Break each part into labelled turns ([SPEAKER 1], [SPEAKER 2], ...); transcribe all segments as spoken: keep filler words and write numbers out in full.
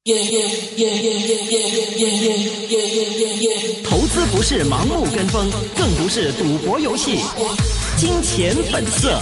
[SPEAKER 1] 投资不是盲目跟风，更不是赌博游戏。金钱本色。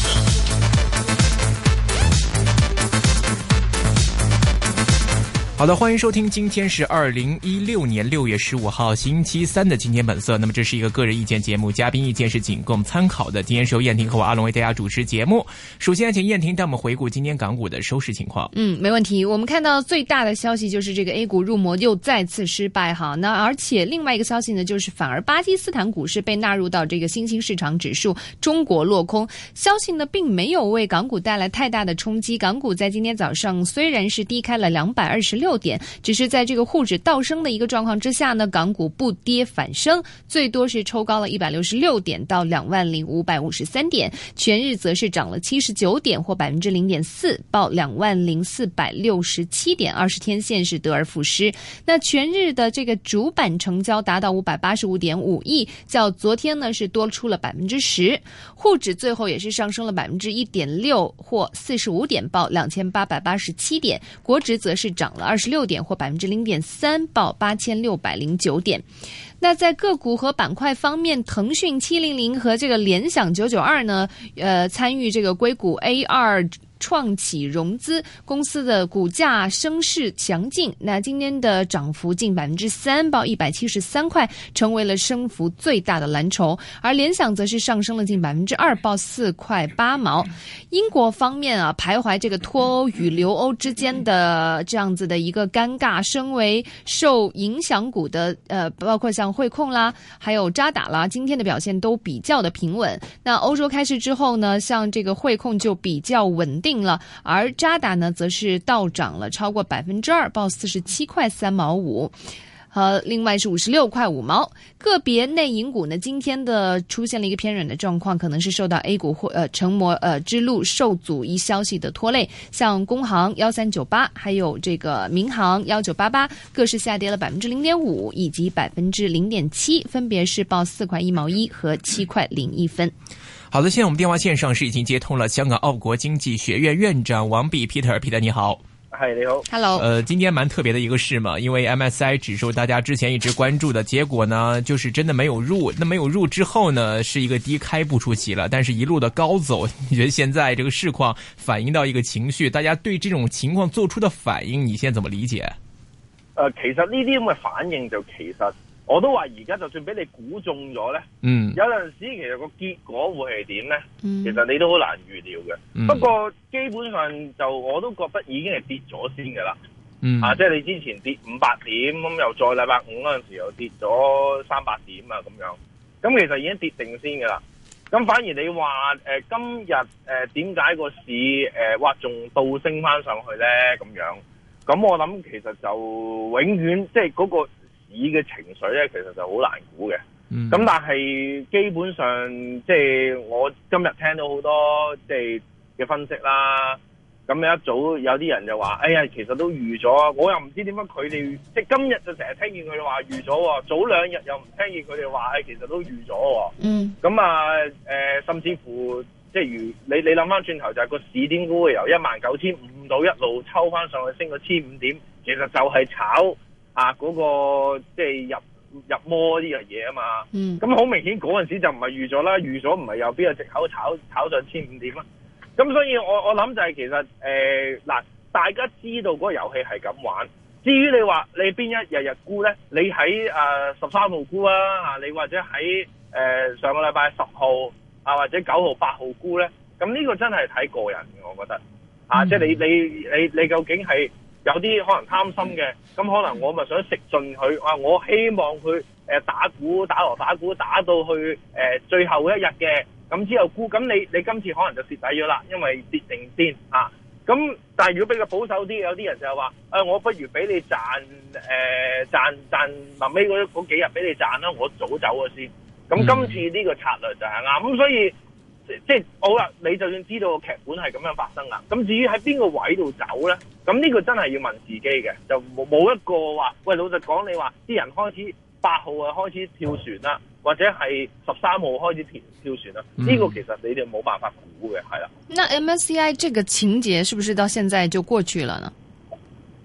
[SPEAKER 1] 好的，欢迎收听，今天是二零一六年六月十五号星期三的今天本色。那么这是一个个人意见节目，嘉宾意见是仅供参考的。今天是由燕婷和我阿龙为大家主持节目。首先请燕婷带我们回顾今天港股的收市情况。
[SPEAKER 2] 嗯，没问题。我们看到最大的消息就是这个 A 股入魔又再次失败哈。那而且另外一个消息呢，就是反而巴基斯坦股市被纳入到这个新兴市场指数，中国落空。消息呢并没有为港股带来太大的冲击。港股在今天早上虽然是低开了两百二十六点，只是在这个沪指倒升的一个状况之下呢，港股不跌反升，最多是抽高了一百六十六点到两万零五百五十三点，全日则是涨了七十九点或百分之零点四，报两万零四百六十七点，二十天线是得而复失。那全日的这个主板成交达到五百八十五点五亿，较昨天呢是多出了百分之十。沪指最后也是上升了百分之一点六或四十五点，报两千八百八十七点。国指则是涨了二十六点或百分之零点三，报八千六百零九点。那在个股和板块方面，腾讯七零零和这个联想九九二呢，呃，参与这个硅谷 A 二。创启融资公司的股价升势强劲，那今天的涨幅近百分之三，报一百七十三块，成为了升幅最大的蓝筹。而联想则是上升了近百分之二，报四块八毛。英国方面啊，徘徊这个脱欧与留欧之间的这样子的一个尴尬，身为受影响股的呃，包括像汇控啦，还有渣打啦，今天的表现都比较的平稳。那欧洲开市之后呢，像这个汇控就比较稳定了，而渣打呢则是倒涨了超过百分之二，报四十七块三毛五。和另外是五十六块五毛。个别内银股呢，今天的出现了一个偏软的状况，可能是受到 A 股或呃成魔呃之路受阻一消息的拖累，像工行一三九八，还有这个民航一九八八，各是下跌了百分之零点五以及百分之零点七，分别是报四块一毛一和七块零一分。
[SPEAKER 1] 好的，现在我们电话线上是已经接通了香港澳国经济学院院长王弼 Peter，Peter 你好。
[SPEAKER 3] 嗨，你好
[SPEAKER 2] ，Hello。
[SPEAKER 1] 呃，今天蛮特别的一个事嘛，因为 M S C I 指数大家之前一直关注的结果呢，就是真的没有入。那没有入之后呢，是一个低开不出奇了，但是一路的高走。你觉得现在这个市况反映到一个情绪，大家对这种情況做出的反應，你現在怎麼理解？
[SPEAKER 3] 誒、呃，其實呢啲咁嘅反應就其實我都話而家就算俾你估中咗咧，嗯，有陣時其實個結果會係點咧？嗯，其實你都好難預料嘅。嗯、不過基本上就我都覺得已經係跌咗先㗎啦。嗯，啊，即係你之前跌五百點，咁又再禮拜五嗰陣時又跌咗三百點啊咁樣，咁其實已經跌定先㗎啦。咁反而你話誒、呃、今日誒點解個市誒哇仲倒升翻上去咧咁樣？咁我諗其實就永遠即係嗰個市嘅情緒咧，其實就好難估嘅。咁、嗯、但係基本上即係我今日聽到好多即係嘅分析啦。咁一早有啲人就話：哎呀，其實都預咗。我又唔知點解佢哋即係今日就成日聽見佢哋話預咗喎，早兩日又唔聽見佢哋話，誒其實都預咗喎。嗯。咁啊誒，甚至乎即係如你你諗翻轉頭，就係個市點估會由一萬九千五到一路抽翻上去，升到千五點，其實就係炒啊嗰、那個即係入入摩呢樣嘢啊嘛。嗯。咁好明顯嗰陣時就唔係預咗啦，預咗唔係又邊有藉口炒炒上千五點啊？咁所以我我諗就係其實誒嗱、呃，大家知道嗰個遊戲係咁玩。至於你話你邊一日日沽咧，你喺誒十三號沽啊，嚇你或者喺誒、呃、上個禮拜十號啊或者九號八號沽咧，咁呢個真係睇個人嘅，我覺得啊，即係你你你你究竟係有啲可能貪心嘅，咁可能我咪想食盡佢啊，我希望佢誒打股打鑼打鼓打到去誒、呃、最後一日嘅。咁之後沽，咁你你今次可能就蝕底咗啦，因為跌定先啊。咁但係如果比較保守啲，有啲人就係話、呃，我不如俾你賺誒、呃、賺賺臨尾嗰嗰幾日俾你賺啦，我早走咗先。咁今次呢個策略就係啱。咁所以即係好啦，你就算知道個劇本係咁樣發生啦。咁至於喺邊個位度走咧，咁呢個真係要問自己嘅，就冇冇一個話，喂，老實講，你話啲人開始八號啊開始跳船啦。或者係十三號開始跳跳船啦，呢、嗯、個其實你哋冇辦法估嘅，係啦。
[SPEAKER 2] 那 M S C I 這個情節是不是到現在就過去了呢？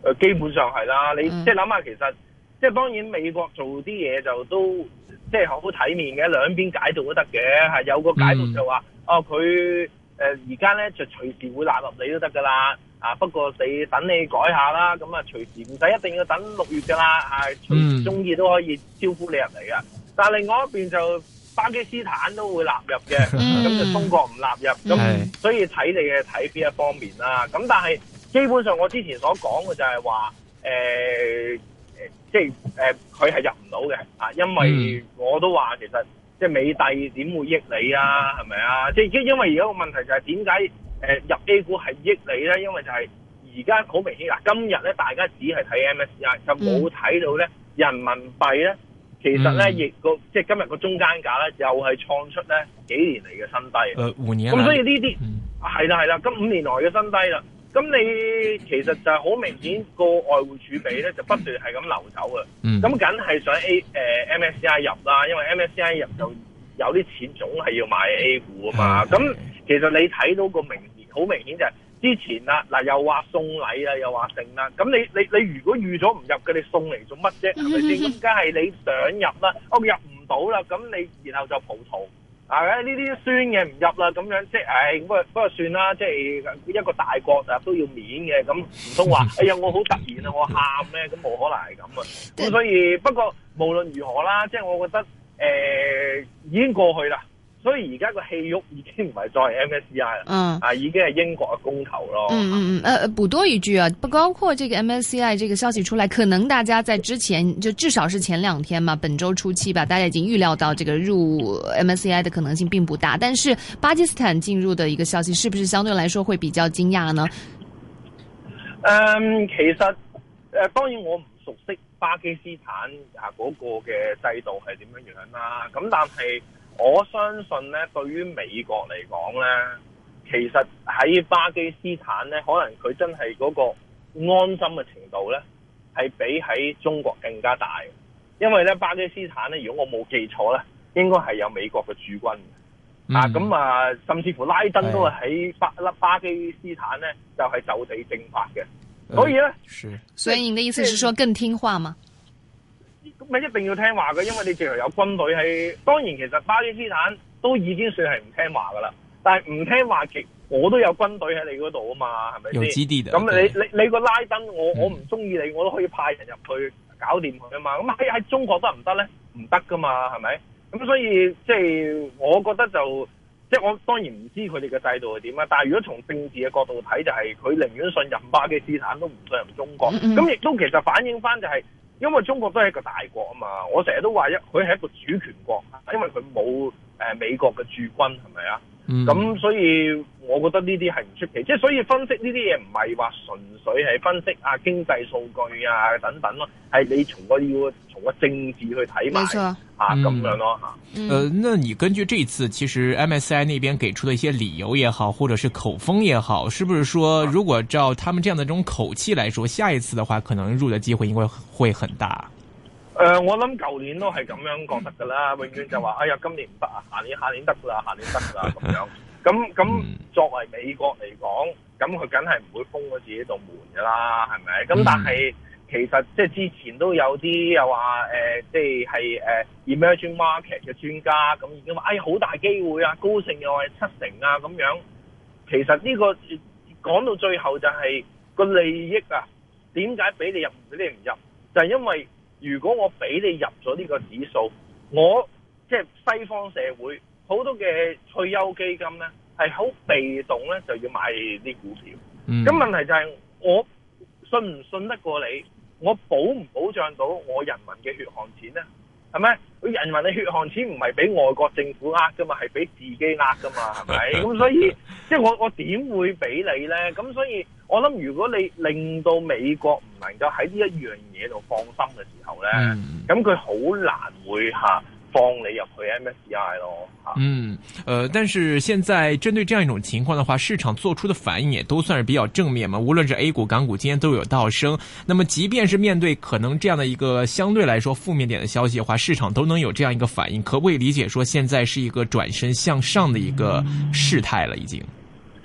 [SPEAKER 3] 誒，基本上係啦。你即係諗下，其實即係當然美國做啲嘢就都即係好體面嘅，兩邊解讀都得嘅。係有個解讀就話，嗯、哦，佢誒而家咧就隨時會納入你都得噶啦。啊，不過你等你改下啦，咁啊隨時唔使一定要等六月噶啦，啊隨時中意都可以招呼你入嚟噶。但係另外一邊就巴基斯坦都會納入嘅，咁、嗯、就中國唔納入，咁、嗯、所以睇你嘅睇邊一方面啦。咁但係基本上我之前所講嘅就係話，誒、呃，即係誒佢係入唔到嘅，啊，因為我都話其實即係美帝點會益你啊，係咪啊？即係因為而家個問題就係點解？誒入 A 股係益你咧，因為就係而家好明顯嗱，今日咧大家只係睇 M S C I， 就冇睇到咧人民幣咧，其實咧亦個即係今日個中間價咧，又係創出咧幾年嚟嘅新低。誒、呃、五年。咁所以呢啲係啦係啦，咁五年來嘅新低啦。咁你其實就係好明顯個外匯儲備咧就不斷係咁流走嘅。咁梗係想 A 誒、呃、M S C I 入啦，因為 M S C I 入就有啲錢總係要買 A 股啊嘛。咁、嗯、其實你睇到個明好明顯就係之前啦，嗱又話送禮啊，又話剩啦，咁你你你如果預咗唔入嘅，你送嚟做乜啫？係咪先？咁梗係你想入啦，我入唔到啦，咁你然後就葡萄啊，呢啲酸嘅唔入啦，咁樣即係，唉，不過不過算啦，即係一個大國啊都要面嘅，咁唔通話，哎呀我好突然啊，我喊咩？咁冇可能係咁啊，咁所以不過無論如何啦，即係我覺得誒、呃、已經過去啦。所以而家個戲肉已經唔係再係 M S C I 啦，嗯，啊，已經係英國嘅公投咯。
[SPEAKER 2] 嗯嗯嗯，呃，補多一句啊，不包括這個 M S C I 這個消息出來，可能大家在之前就至少是前兩天嘛，本周初期吧，大家已經預料到這個入 M S C I 的可能性並不大。但是巴基斯坦進入的一個消息，是不是相對來說會比較驚訝呢？
[SPEAKER 3] 嗯，其實誒、呃，當然我唔熟悉巴基斯坦啊嗰個嘅制度係點樣樣啦，咁但係。我相信咧，對於美國嚟講咧，其實喺巴基斯坦咧，可能佢真係嗰個安心嘅程度咧，係比喺中國更加大。因為咧，巴基斯坦咧，如果我冇記錯咧，應該係有美國嘅駐軍、嗯、啊。咁啊，甚至乎拉登都係喺巴巴基斯坦咧，就係、是、就地正法嘅。所以咧，
[SPEAKER 2] 是。所以你的意思是說更聽話嗎？
[SPEAKER 3] 咪一定要聽話嘅，因為你淨係有軍隊喺。當然，其實巴基斯坦都已經算係唔聽話噶啦。但係唔聽話，其我都有軍隊喺你嗰度啊嘛，係咪先？有基地嘅。咁你你你個拉登，我我唔中意你，我都可以派人入去搞掂佢啊嘛。咁喺喺中國得唔得咧？唔得噶嘛，係咪？咁所以即係我覺得就即係我當然唔知佢哋嘅制度係點啊。但係如果從政治嘅角度睇，就係佢寧願信任巴基斯坦，都唔信任中國。咁亦都其實反映翻就係。因為中國都係一個大國啊嘛，我成日都話一佢係一個主權國，因為佢冇誒美國嘅駐軍，係咪啊？咁、嗯、所以我覺得呢啲係唔出奇，即係所以分析呢啲嘢唔係話純粹係分析啊經濟數據啊等等咯，係你從個要從個政治去睇埋啊咁樣咯吓。
[SPEAKER 1] 嗯，呃，那你根據這次其實 M S C I 那邊給出的一些理由也好，或者是口風也好，是不是說如果照他們這樣的這種口氣來說，下一次的話可能入的機會應該會很大？
[SPEAKER 3] 誒、呃，我諗舊年都係咁樣覺得噶啦，永遠就話，哎呀，今年唔得啊，下年下年得啦，下年得啦咁樣。咁咁作為美國嚟講，咁佢梗係唔會封咗自己道門噶啦，係咪？咁但係其實即係之前都有啲又話誒，即係係誒 emerging market 嘅專家咁已經話，哎呀，好大機會啊，高盛又係七成啊咁樣。其實呢、這個講到最後就係、是、個利益啊，點解俾你入唔俾你唔入？就係、是、因為。如果我俾你入咗呢個指數，我即係西方社會好多嘅退休基金咧，係好被動咧就要買啲股票。咁、嗯、問題就係我信唔信得過你？我保唔保障到我人民嘅血汗錢咧？係咪？佢人民嘅血汗錢唔係俾外國政府呃噶嘛，係俾自己呃噶嘛，係咪？咁所以即係我我點會俾你咧？咁所以我諗，如果你令到美國唔能夠喺呢一樣嘢度放心嘅時候咧，咁佢好難會吓放你入去 M S C I 咯。
[SPEAKER 1] 嗯，呃，但是現在針對這樣一種情況的話，市場做出的反應也都算是比較正面嘛。無論是 A 股、港股，今天都有倒升。那麼，即便是面對可能這樣的一個相對來說負面點的消息的話，市場都能有這樣一個反應，可不可以理解說現在是一個轉身向上的一個事態了？已經？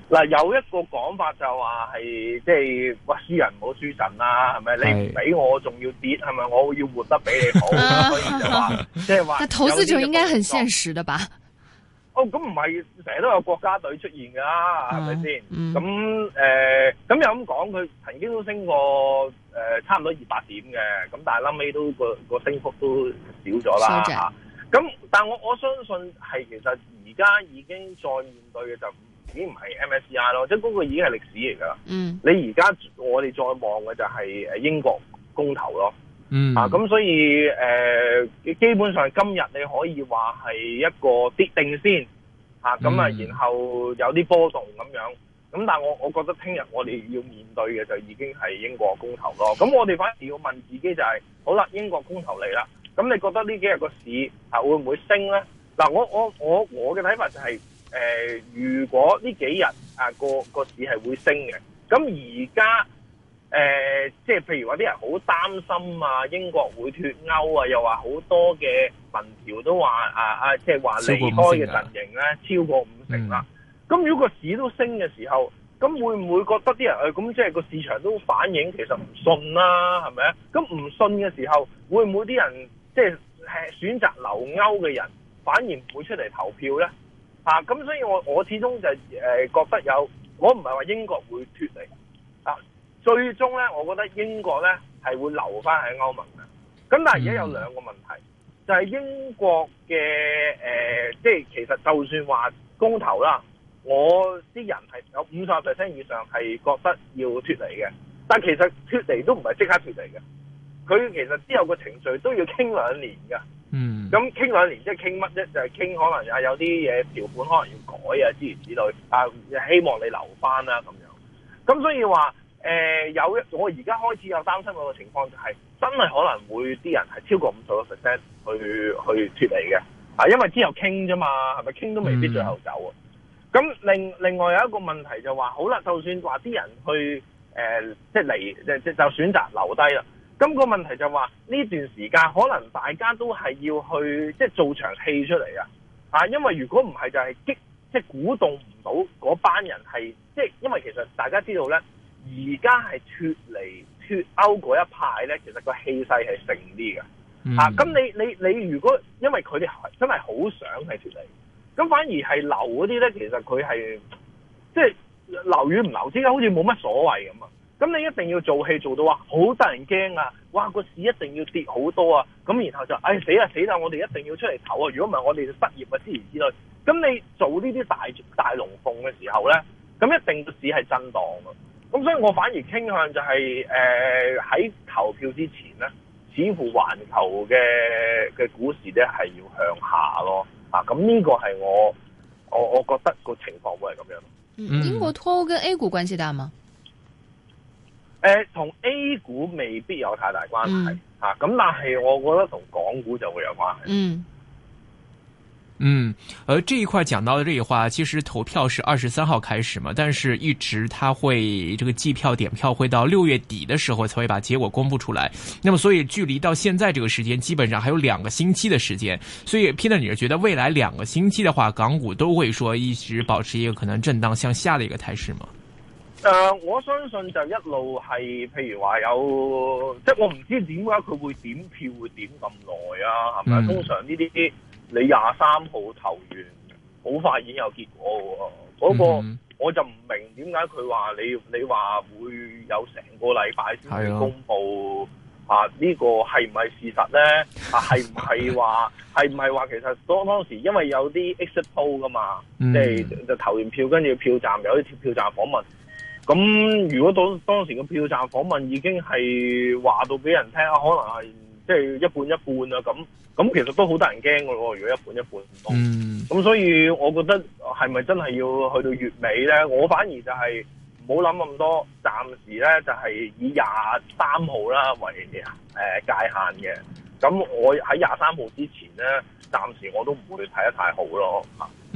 [SPEAKER 3] 嗱，有一個講法就話係即係哇，輸人唔好輸陣啦，係咪？你唔俾我仲要跌，係咪？我要活得比你好，所以就話即係話。但
[SPEAKER 2] 投資者應該很現實的吧？
[SPEAKER 3] 哦，咁唔係成日都有國家隊出現噶啦，係咪先？咁誒，咁、呃、又咁講，佢曾經都升過誒、呃，差唔多二百點嘅，咁但係臨尾都個個升幅都少咗啦嚇。咁、啊、但係我我相信係其實而家已經再面對嘅就已經唔係 M S C I 咯，即係嗰個已經係歷史嚟㗎啦。嗯，你而家我哋再望嘅就係誒英國公投咯。嗯啊，咁所以誒、呃，基本上今日你可以話係一個跌定先，吓咁啊，然後有啲波動咁樣，咁但係我我覺得聽日我哋要面對嘅就已經係英國公投咯。咁我哋反而要問自己就係、是，好啦，英國公投嚟啦，咁你覺得呢幾日個市啊會唔會升咧？嗱，我我我我嘅睇法就係、是，誒、呃，如果呢幾日啊個個市係會升嘅，咁而家。誒、呃，即係譬如話啲人好擔心啊，英國會脫歐啊，又話好多嘅民調都話啊啊，即係話離開嘅陣營咧超過五成啦。咁、嗯、如果個市都升嘅時候，咁會唔會覺得啲人誒咁即係個市場都反映其實唔信啦，係咪啊？咁唔信嘅時候，會唔會啲人即係選擇留歐嘅人反而唔會出嚟投票咧？啊，咁所以我我始終就誒、呃、覺得有，我唔係話英國會脫離啊。最終咧，我覺得英國咧係會留翻喺歐盟嘅。咁但係而家有兩個問題，就係、是、英國嘅誒、呃，即係其實就算話公投啦，我啲人係有五十 percent 以上係覺得要脫離嘅。但其實脫離都唔係即刻脫離嘅，佢其實之後個程序都要傾兩年㗎。嗯。咁傾兩年即係傾乜啫？就係、是、傾可能啊有啲嘢條款可能要改啊，諸如此類啊，希望你留翻啦咁樣。咁所以話。誒、呃，有一我而家開始有擔心嗰個情況就係、是、真係可能會啲人係超過五十個 percent 去去脫離嘅，啊，因為之後傾啫嘛，係咪傾都未必最後走啊？咁、嗯、另另外有一個問題就話，好啦，就算話啲人去誒、呃，即係離，即即就選擇留低啦。咁、那個問題就話呢段時間可能大家都係要去即係做場戲出嚟啊！啊，因為如果唔係就係激即係鼓動唔到嗰班人係，即係因為其實大家知道咧。而家係脫離脫歐嗰一派咧，其實個氣勢係盛啲嘅，嗯、啊！咁你你你如果因為佢哋真係好想係脫離，咁反而係留嗰啲咧，其實佢係即係留與唔留之間，好似冇乜所謂咁啊！咁你一定要做戲做到話好得人驚啊！哇，個市一定要跌好多啊！咁然後就唉、哎、死啦死啦！我哋一定要出嚟投啊！如果唔係我哋就失業啊之類之類。咁你做呢啲大大龍鳳嘅時候咧，咁一定個市係震盪啊！咁所以我反而傾向就係誒喺投票之前咧，似乎環球嘅嘅股市咧係要向下咯，啊咁呢個係我我我覺得個情況會係咁樣。
[SPEAKER 2] 嗯，英國脫歐跟 A 股關係大嗎？
[SPEAKER 3] 誒、呃，同 A 股未必有太大關係，吓咁、嗯啊，但係我覺得同港股就會有關係。嗯。
[SPEAKER 1] 嗯，而這一塊講到的這一話，其實投票是二十三號開始嘛，但是一直它會這個計票點票會到六月底的時候才會把結果公布出來。那麼所以距離到現在這個時間，基本上還有兩個星期的時間。所以 Peter，你是覺得未來兩個星期的話，港股都會說一直保持一個可能震盪向下的一個態勢嗎？
[SPEAKER 3] 誒、呃，我相信就一路係，譬如話有，即係我唔知點解佢會點票會點咁耐啊？係咪、嗯？通常呢啲。你廿三號投完，好快已經有結果喎。嗰、那個我就唔明點解佢話你你話會有成個禮拜先至公佈啊？呢、這個係唔係事實咧？啊，係唔係話係唔係話其實當當時因為有啲 exit poll 噶嘛，即係、嗯、就投完票跟住票站有啲票站訪問。咁如果當當時個票站訪問已經係話到俾人聽啊，可能係即係一半一半啊咁。咁其實都好得人驚㗎喎，如果一半一半唔多，咁、嗯、所以我覺得係咪真係要去到月尾咧？我反而就係唔好諗咁多，暫時咧就係以廿三號啦為誒、呃、界限嘅。咁我喺廿三號之前咧，暫時我都唔會睇得太好咯。
[SPEAKER 1] 嗯。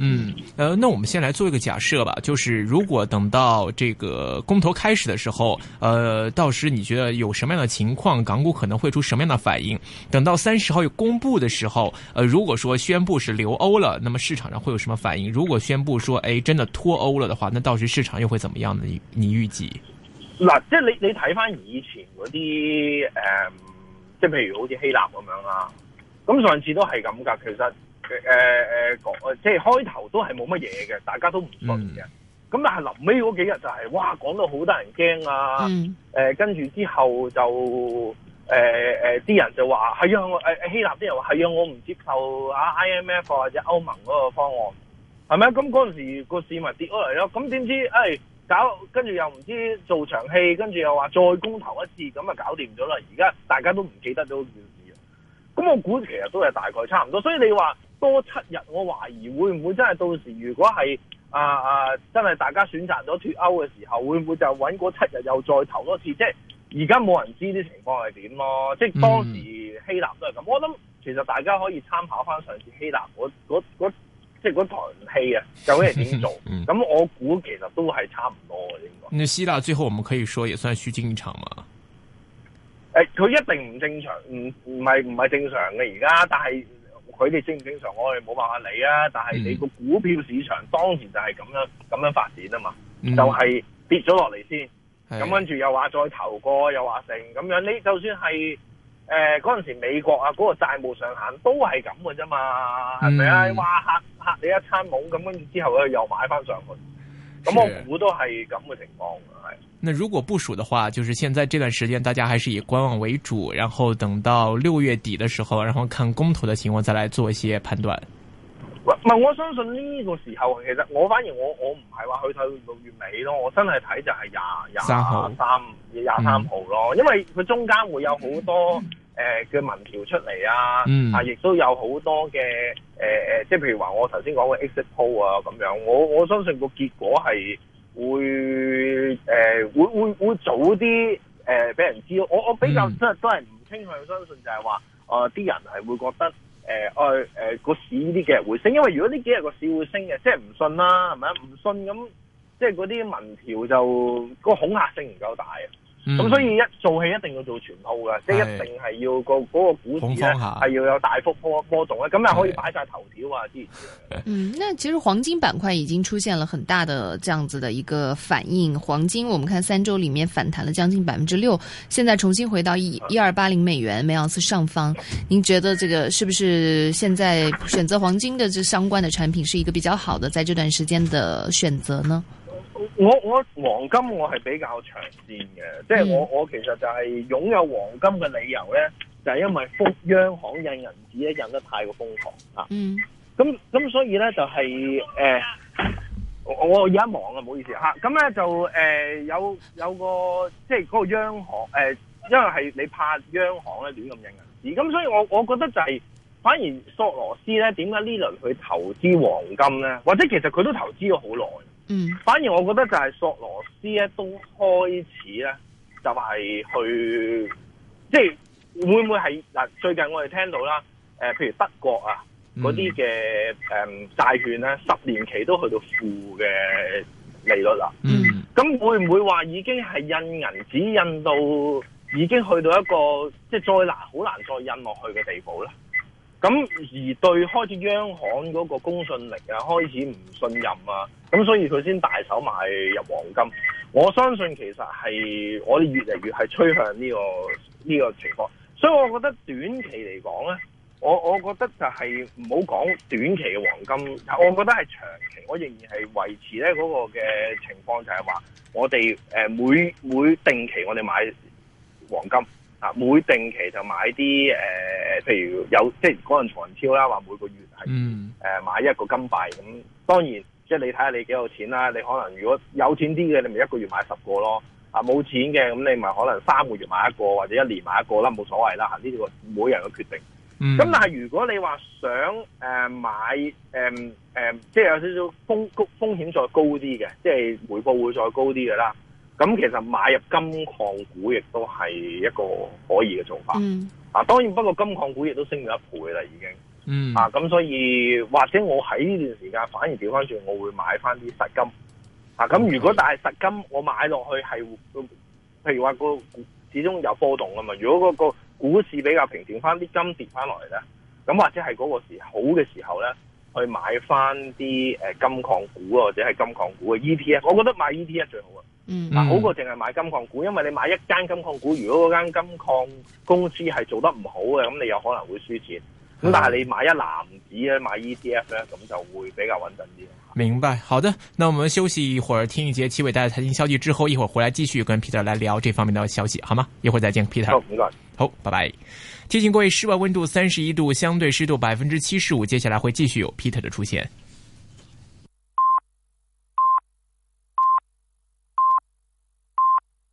[SPEAKER 1] 呃，那我們先來做一個假設吧，就是如果等到這個公投開始的時候，呃，到時你覺得有什麼樣的情況，港股可能會出什麼樣的反應？等到三十號有公布的時候，呃，如果說宣布是留歐了，那麼市場上會有什麼反應？如果宣布說，誒，真的脫歐了的話，那到時市場又會怎麼樣呢？你你預計？
[SPEAKER 3] 嗱，即係你你睇翻以前嗰啲誒，即係譬如好似希臘咁樣啦，咁上次都係咁噶，其實。誒誒誒，即係開頭都係冇乜嘢嘅，大家都唔信嘅。咁、嗯、但係臨尾嗰幾日就係、是，哇，講到好多人驚啊！誒、嗯呃，跟住之後就誒誒，啲、呃呃、人就話係啊，誒、呃、希臘啲人話係啊，我唔接受啊 I M F 或者歐盟嗰個方案，係咪啊？咁嗰陣時個市咪跌咗嚟咯。咁點知誒、哎、搞，跟住又唔知做場戲，跟住又話再公投一次，咁啊搞掂咗啦。而家大家都唔記得咗件事啊。咁我估其實都係大概差唔多，所以你話。多七日，我懷疑會唔會真係到時，如果係啊啊真係大家選擇咗脫歐嘅時候，會唔會就揾嗰七日又再投多次？即係而家冇人知啲情況係點咯。即係當時希臘都係咁。我諗其實大家可以參考翻上次希臘嗰嗰嗰即係嗰台戲啊，究竟係點做？咁、嗯、我估其實都係差唔多嘅應該。那
[SPEAKER 1] 希臘最後我們可以說也算虛驚一場嘛？
[SPEAKER 3] 誒、欸，佢一定唔正常，唔唔係唔係正常嘅而家，但係。佢哋正唔正常，我哋冇辦法理啊！但係你個股票市場當時就係咁樣咁樣發展啊嘛，嗯、就係、是、跌咗落嚟先，咁跟住又話再投過，又話成咁樣。你就算係誒嗰陣時美國啊，嗰、那個債務上限都係咁嘅啫嘛，係咪啊？哇嚇嚇你一餐懵，咁跟住之後咧又買翻上去，咁我估都係咁嘅情況係。
[SPEAKER 1] 那如果部署的話，就是現在這段時間大家還是以觀望為主，然後等到六月底的時候，然後看公投的情況再來做一些判斷。
[SPEAKER 3] 唔係，我相信呢個時候其實我反而我我唔係話去到六月尾咯，我真係睇就係廿廿三廿三號咯，因為佢中間會有好多誒嘅民調出嚟啊，嗯、啊亦都有好多嘅誒誒，即係譬如話我頭先講嘅 exit poll 啊咁樣，我我相信個結果係。會誒、呃、會會會早啲誒俾人知道，我我比較即係、嗯、都係唔傾向相信就係話誒啲人係會覺得誒誒誒個市呢幾日會升，因為如果呢幾日個市會升嘅，即係唔信啦，係咪啊？唔信咁即係嗰啲民調就個恐嚇性唔夠大啊！咁、嗯、所以一做戲一定要做全套嘅，即係一定係要個嗰個股市咧係要有大幅波波動咧，咁又可以擺晒頭條啊之類嘅。
[SPEAKER 2] 嗯，那其實黃金板塊已經出現了很大的這樣子的一個反應。黃金我們看三周裏面反彈了將近百分之六，現在重新回到一一二八零美元每盎司上方。您覺得這個是不是現在選擇黃金的這相關的產品是一個比較好的在這段時間的選擇呢？
[SPEAKER 3] 我我黃金我係比較長線嘅，即係我我其實就係擁有黃金嘅理由咧，就係因為封央行印銀紙咧印得太過瘋狂啊。嗯。咁咁所以咧就係、是、誒、呃，我而家忙啊，唔好意思吓。咁咧就誒、呃、有有個即係嗰個央行誒、呃，因為係你怕央行咧亂咁印銀紙，咁所以我我覺得就係、是、反而索羅斯咧點解呢輪去投資黃金咧，或者其實佢都投資咗好耐。嗯，反而我覺得就係索羅斯咧都開始咧就係、是、去，即係會唔會係嗱？最近我哋聽到啦，誒、呃，譬如德國啊嗰啲嘅誒債券咧，十年期都去到負嘅利率啦。嗯，咁會唔會話已經係印銀紙印到已經去到一個即係再難好難再印落去嘅地步咧？咁而對開始央行嗰個公信力啊，開始唔信任啊，咁所以佢先大手買入黃金。我相信其實係我哋越嚟越係趨向呢個呢個情況，所以我覺得短期嚟講咧，我我覺得就係唔好講短期嘅黃金，我覺得係長期，我仍然係維持咧嗰個嘅情況，就係話我哋誒每每定期我哋買黃金。每定期就買啲誒、呃，譬如有即係嗰陣財超啦，話每個月係誒、嗯呃、買一個金幣咁。當然，即係你睇下你幾有錢啦。你可能如果有錢啲嘅，你咪一個月買十個咯。啊，冇錢嘅咁，你咪可能三個月買一個，或者一年買一個啦，冇所謂啦。嚇，呢個每人嘅決定。咁、嗯、但係如果你話想誒、呃、買誒誒、呃呃，即係有少少風風險再高啲嘅，即係回報會再高啲嘅啦。咁其實買入金礦股亦都係一個可以嘅做法。嗯。啊，當然不過金礦股亦都升咗一倍啦，已經。
[SPEAKER 1] 嗯
[SPEAKER 3] 啊，咁所以或者我喺呢段時間反而調翻轉，我會買翻啲實金啊。咁如果但係實金我買落去係，譬如話個始終有波動啊嘛。如果嗰個股市比較平靜翻，啲金跌翻落嚟咧，咁或者係嗰個時好嘅時候咧，去買翻啲誒金礦股或者係金礦股嘅 E T F， 我覺得買 E T F 最好啊。
[SPEAKER 2] 嗯，
[SPEAKER 3] 嗱，好過淨係買金礦股，因為你買一間金礦股，如果嗰間金礦公司係做得唔好嘅，咁你有可能會輸錢。咁但係你買一籃子咧，買 E T F 咧，咁就會比較穩陣啲。
[SPEAKER 1] 明白，好的，那我們休息一會兒，聽一節七尾帶嘅財經消息之後，一會兒回來繼續跟 Peter 來聊這方面的消息，好嗎？一會兒再見 ，Peter。
[SPEAKER 3] 好，唔該。
[SPEAKER 1] 好，拜拜。提醒各位，室外溫度三十一度，相對濕度百分之七十五，接下來會繼續有 Peter 的出現。